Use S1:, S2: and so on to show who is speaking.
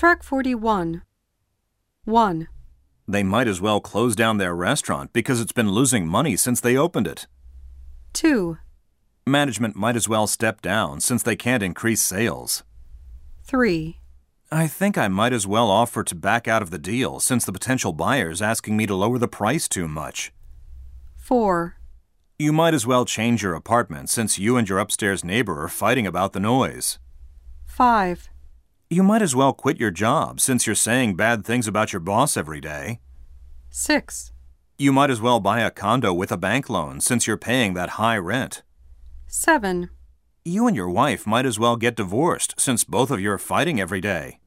S1: Track 41. 1.
S2: They might as well close down their restaurant because it's been losing money since they opened it.
S1: 2.
S2: Management might as well step down since they can't increase sales.
S1: 3.
S2: I think I might as well offer to back out of the deal since the potential buyer's asking me to lower the price too much.
S1: 4.
S2: You might as well change your apartment since you and your upstairs neighbor are fighting about the noise.
S1: 5.
S2: You might as well quit your job since you're saying bad things about your boss every day.
S1: 6.
S2: You might as well buy a condo with a bank loan since you're paying that high rent.
S1: 7.
S2: You and your wife might as well get divorced since both of you are fighting every day.